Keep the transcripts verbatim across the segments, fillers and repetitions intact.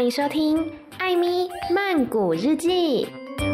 歡迎收聽艾咪曼谷日記。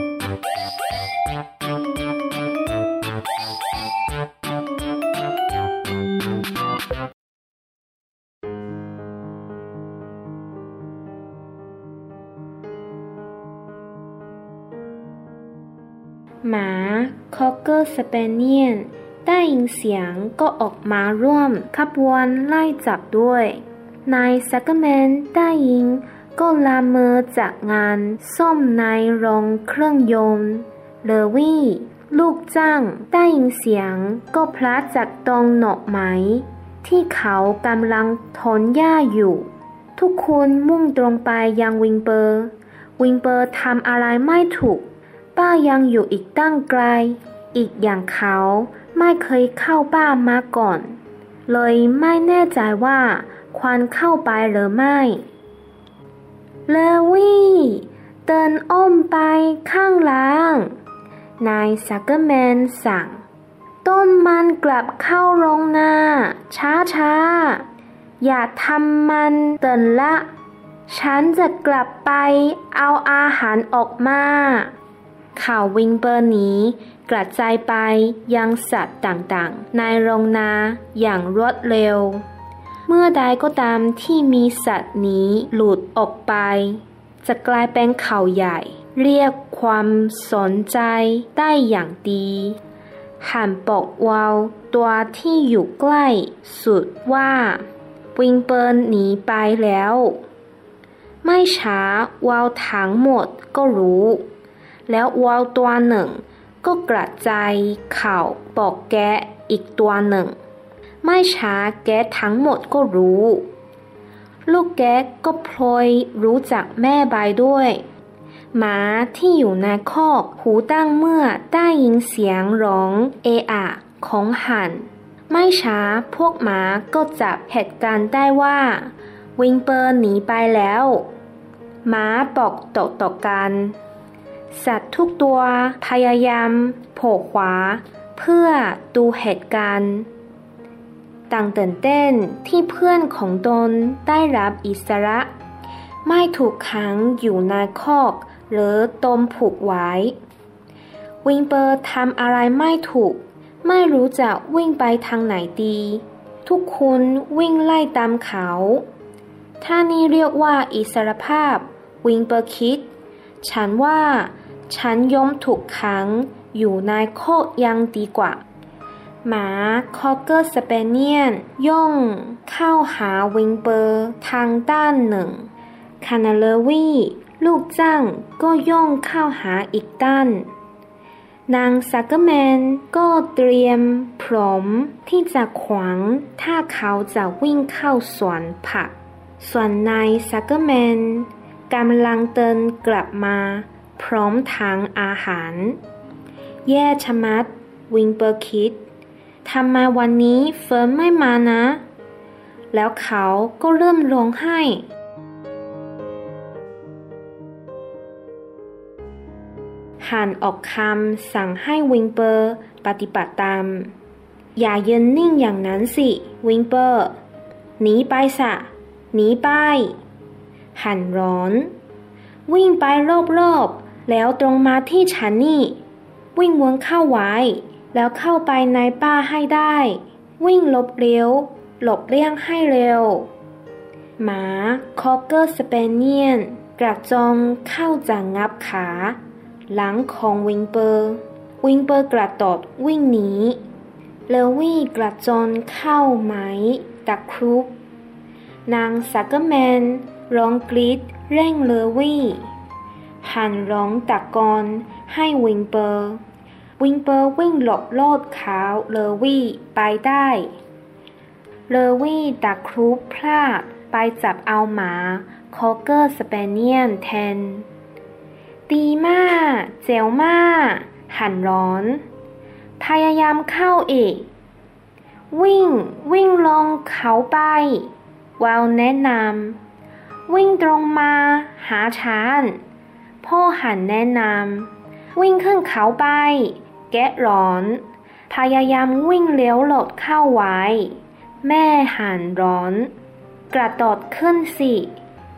หมาคอกเกอร์สเปเนียนได้ยินเสียงก็ออกมาร่วมขบวนไล่จับด้วยนายซักเกอร์แมนได้ยินก็ลามือจากงานซ่อมในโรงเครื่องยนต์เลวี่ลูกจ้างได้ยินเสียงก็พลัดจากตรงหน่อไม้ที่เขากำลังถอนหญ้าอยู่ทุกคนมุ่งตรงไปยังวิงเปอร์วิงเปอร์ทำอะไรไม่ถูกป้ายังอยู่อีกตั้งไกลอีกอย่างเขาไม่เคยเข้าบ้านมาก่อนเลยไม่แน่ใจว่าควรเข้าไปหรือไม่เลวี่เดินอ้อมไปข้างหลังนายซักเกอร์แมนสั่งต้นมันกลับเข้าโรงนาช้าๆอย่าทำมันเตือนละฉันจะกลับไปเอาอาหารออกมาข่าววิงเปอร์นี้กระจายไปยังสัตว์ต่างๆในโรงนาอย่างรวดเร็วเมื่อใดก็ตามที่มีสัตว์นี้หลุดออกไปจะกลายเป็นข่าวใหญ่เรียกความสนใจได้อย่างดีหันบอกวาวตัวที่อยู่ใกล้สุดว่าวิงเปอร์หนีไปแล้วไม่ช้าวาวทั้งหมดก็รู้แล้ววาวตัวหนึ่งก็กระจายข่าวบอกแกะอีกตัวหนึ่งไม่ช้าแกะทั้งหมดก็รู้ลูกแกะก็พลอยรู้จักแม่ใบด้วยหมาที่อยู่ในคอกหูตั้งเมื่อได้ยินเสียงร้องเอะอะของหันไม่ช้าพวกหมาก็จับเหตุการณ์ได้ว่าวิงเปอร์หนีไปแล้วหมาบอกต่อๆกันสัตว์ทุกตัวพยายามโผล่ขวาเพื่อดูเหตุการณ์ต่างตื่นเต้นที่เพื่อนของตนได้รับอิสระไม่ถูกขังอยู่ในคอกหรือตมผูกไว้วิงเปอร์ทำอะไรไม่ถูกไม่รู้จะวิ่งไปทางไหนดีทุกคนวิ่งไล่ตามเขาถ้านี่เรียกว่าอิสรภาพวิงเปอร์คิดฉันว่าฉันยอมถูกขังอยู่ในคอกยังดีกว่าหมาคอกเกอร์สเปเนียนย่องเข้าหาวิงเปอร์ทางด้านหนึ่งคานาเลวี่ลูกจ้างก็ย่องเข้าหาอีกด้านนางซักเกอร์แมนก็เตรียมพร้อมที่จะขวางถ้าเขาจะวิ่งเข้าสวนผักส่วนนายซักเกอร์แมนกำลังเดินกลับมาพร้อมทางอาหารแย่ชะมัดวิงเปอร์คิดทำไมวันนี้เฟิร์นไม่มานะแล้วเขาก็เริ่มร้องไห้หันออกคำสั่งให้วิงเปอร์ปฏิบัติตามอย่ายืนนิ่งอย่างนั้นสิวิงเปอร์หนีไปซะหนีไปหันร้อนวิ่งไปรอบๆแล้วตรงมาที่ฉันนี่วิ่งวนเข้าไว้แล้วเข้าไปในป่าให้ได้วิ่งหลบเร็วหลบเลี่ยงให้เร็วหมาคอกเกอร์สเปเนียนกระจองเข้าจะงับขาหลังของวิงเปอร์วิงเปอร์กระโดดวิ่งหนีเลวี่กระจอนเข้าไม้ตะครุบนางซักเกอร์แมนร้องกรีดเร่งเลวี่หันร้องตะโกนให้วิงเปอร์วิงเปอร์วิ่งหลบโลดเขาเลวี่ไปได้เลวี่ตะครุบพลาดไปจับเอาหมาคอกเกอร์สเปเนียนแทนดีมากเจ๋วมากหันร้อนพยายามเข้าอีกวิ่งวิ่งลงเขาไปวาวแนะนำวิ่งตรงมาหาฉันพ่อหันแนะนำวิ่งขึ้นเขาไปแกะร้อนพยายามวิ่งเลี้ยวหลดเข้าไว้แม่หันร้อนกระโดดขึ้นสิ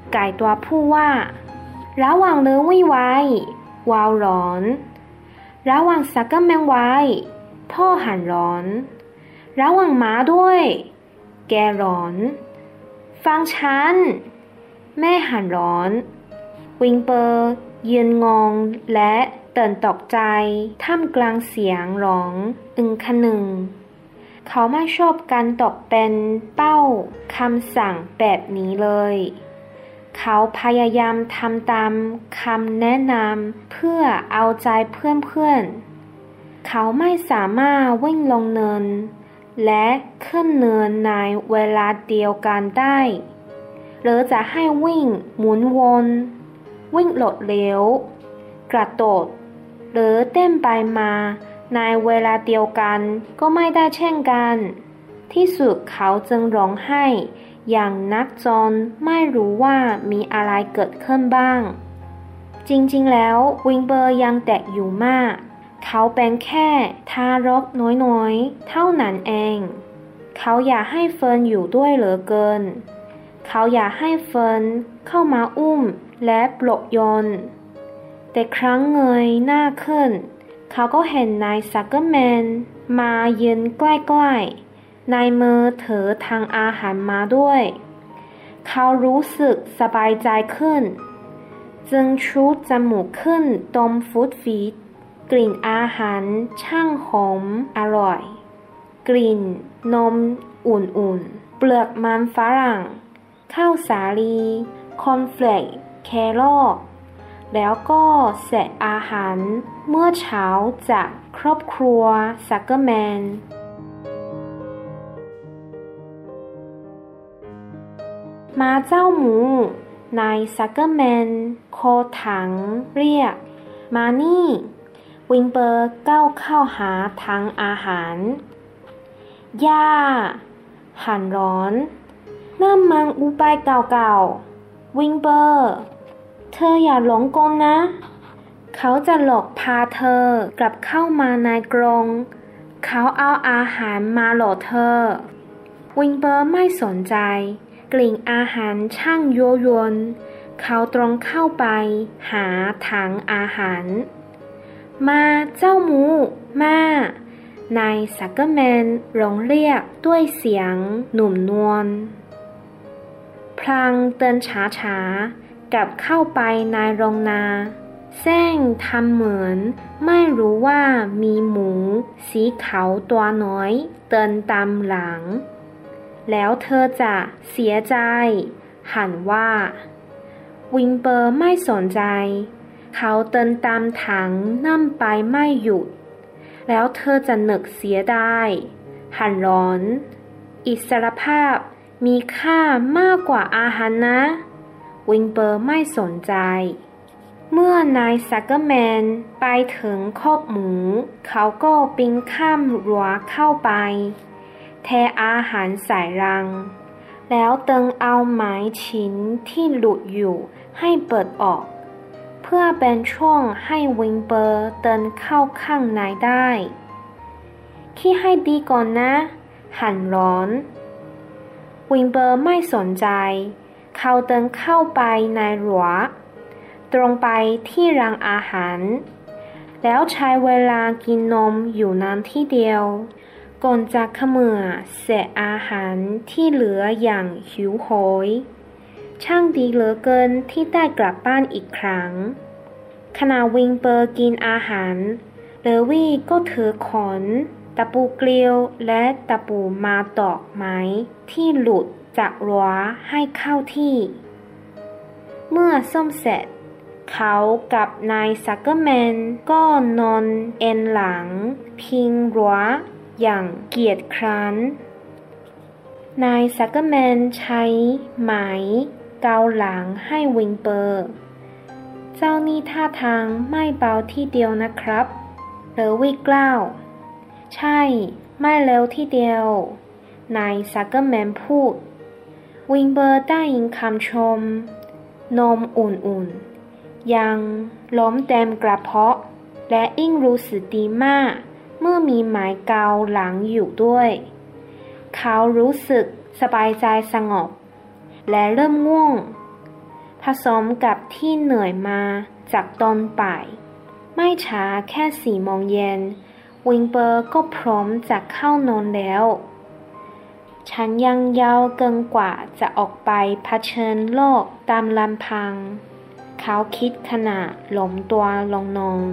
ไก่ตัวผู้ว่าระวังเลยวิไว้วาวร้อนระวังซักเกอร์แมนไว้พ่อหันร้อนระวังหมาด้วยแกร้อนฟังฉันแม่หันร้อนวิงเปอร์ยืนงงและตื่นตกใจท่ามกลางเสียงร้องอึงคนึงเขาไม่ชอบการตกเป็นเป้าคำสั่งแบบนี้เลยเขาพยายามทำตามคำแนะนำเพื่อเอาใจเพื่อนๆเขาไม่สามารถวิ่งลงเนินและขึ้นเนินในเวลาเดียวกันได้หรือจะให้วิ่งหมุนวนวิ่งโลดเร็วกระโดดหรือเต้นไปมาในเวลาเดียวกันก็ไม่ได้เช่นกันที่สุดเขาจึงร้องไห้อย่างนักจนไม่รู้ว่ามีอะไรเกิดขึ้นบ้างจริงๆแล้ววิงเบอร์ยังเด็กอยู่มากเขาเป็นแค่ทารกน้อยๆเท่านั้นเองเขาอยากให้เฟิร์นอยู่ด้วยเหลือเกินเขาอยากให้เฟิร์นเข้ามาอุ้มและปลอบโยนแต่ครั้งเงยหน้าขึ้นเขาก็เห็นนายซักเกอร์แมนมายืนใกล้ๆในมือถือทางอาหารมาด้วยเขารู้สึกสบายใจขึ้นจึงชูจมูกขึ้นดมฟู้ดฟีดกลิ่นอาหารช่างหอมอร่อยกลิ่นนมอุ่นๆเปลือกมันฝรั่งข้าวสาลีคอร์นเฟลกแครอทแล้วก็เศษอาหารเมื่อเช้าจากครอบครัวซักเกอร์แมนมาเจ้าหมูนายซักเกอร์แมนโคถังเรียกมานี่วิงเบอร์ก้าวเข้าหาถังอาหารย่าหันร้อนนั่นมันอุบายเก่าๆวิงเบอร์เธออย่าหลงกลนะเขาจะหลอกพาเธอกลับเข้ามาในกรงเขาเอาอาหารมาหลอกเธอวิงเบอร์ไม่สนใจกลิ่นอาหารช่างยั่วยวนเขาตรงเข้าไปหาถังอาหารมาเจ้าหมูมานายซักเกอร์แมนร้องเรียกด้วยเสียงหนุ่มนวลพลางเดินช้าๆกลับเข้าไปในโรงนาแซงทำเหมือนไม่รู้ว่ามีหมูสีขาวตัวน้อยเดินตามหลังแล้วเธอจะเสียใจหันว่าวิงเบอร์ไม่สนใจเขาเดินตามถังนั่นไปไม่หยุดแล้วเธอจะนึกเสียดายหันร้อนอิสรภาพมีค่ามากกว่าอาหารนะวิงเบอร์ไม่สนใจเมื่อนายซักเกอร์แมนไปถึงคอกหมูเขาก็ปีนข้ามรั้วเข้าไปเทอาหารใส่รังแล้วตึงเอาไม้ชิ้นที่หลุดอยู่ให้เปิดออกเพื่อเป็นช่องให้วิงเบอร์เดินเข้าข้างในได้คิดให้ดีก่อนนะหันร้อนวิงเบอร์ไม่สนใจเขาเดินเข้าไปในรั้วตรงไปที่รังอาหารแล้วใช้เวลากินนมอยู่นานที่เดียวก่อนจะเขมือเศษอาหารที่เหลืออย่างหิวโหยช่างดีเหลือเกินที่ได้กลับบ้านอีกครั้งขณะวิงเบอร์กินอาหารเลวี่ก็ถือขนตะปูเกลียวและตะปูมาตอกไม้ที่หลุดจากรั้วให้เข้าที่เมื่อซ่อมเสร็จเขากับนายซักเกอร์แมนก็นอนเอนหลังพิงรั้วอย่างเกียจคร้านนายซักเกอร์แมนใช้ไหมเกาหลังให้วิงเบอร์เจ้านี่ท่าทางไม่เบาที่เดียวนะครับเลวี่กล่าวใช่ไม่เร็วที่เดียวนายซักเกอร์แมนพูดวิงเบอร์ได้ยินคำชมนมอุ่นๆยังล้มเต็มกระเพาะและอิ่งรู้สึกดีมากเมื่อมีไม้เกาหลังอยู่ด้วยเขารู้สึกสบายใจสงบและเริ่มง่วงสมกับที่เหนื่อยมาจากตอนบ่ายไม่ช้าแค่สี่โมงเย็นวิงเปอร์ก็พร้อมจะเข้านอนแล้วฉันยังยาวเกินกว่าจะออกไปเผชิญโลกตามลำพังเขาคิดขณะล้มตัวลงนอน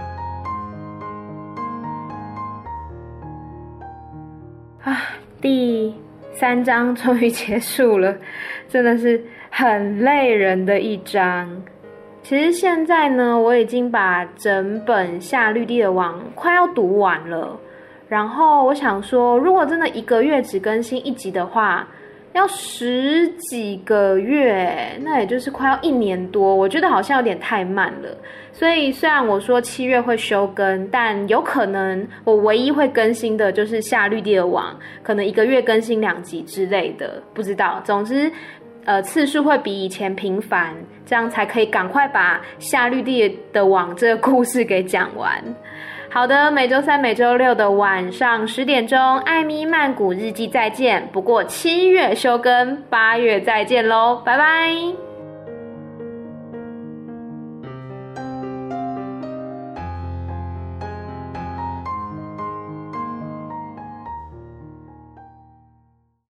啊，第三章終於結束了，真的是很累人的一章。其實現在呢，我已經把整本夏綠蒂的網快要讀完了。然後我想說，如果真的一個月只更新一集的話，要十幾個月，那也就是快要一年多，我覺得好像有點太慢了。所以雖然我說七月會休更，但有可能我唯一會更新的就是夏綠蒂的網，可能一個月更新兩集之類的，不知道。總之，呃，次數會比以前頻繁，這樣才可以趕快把夏綠蒂的網這個故事給講完。好的，每週三、每週六的晚上十點鐘，艾咪曼谷日記再見。不過七月休更，八月再見嘍，拜拜。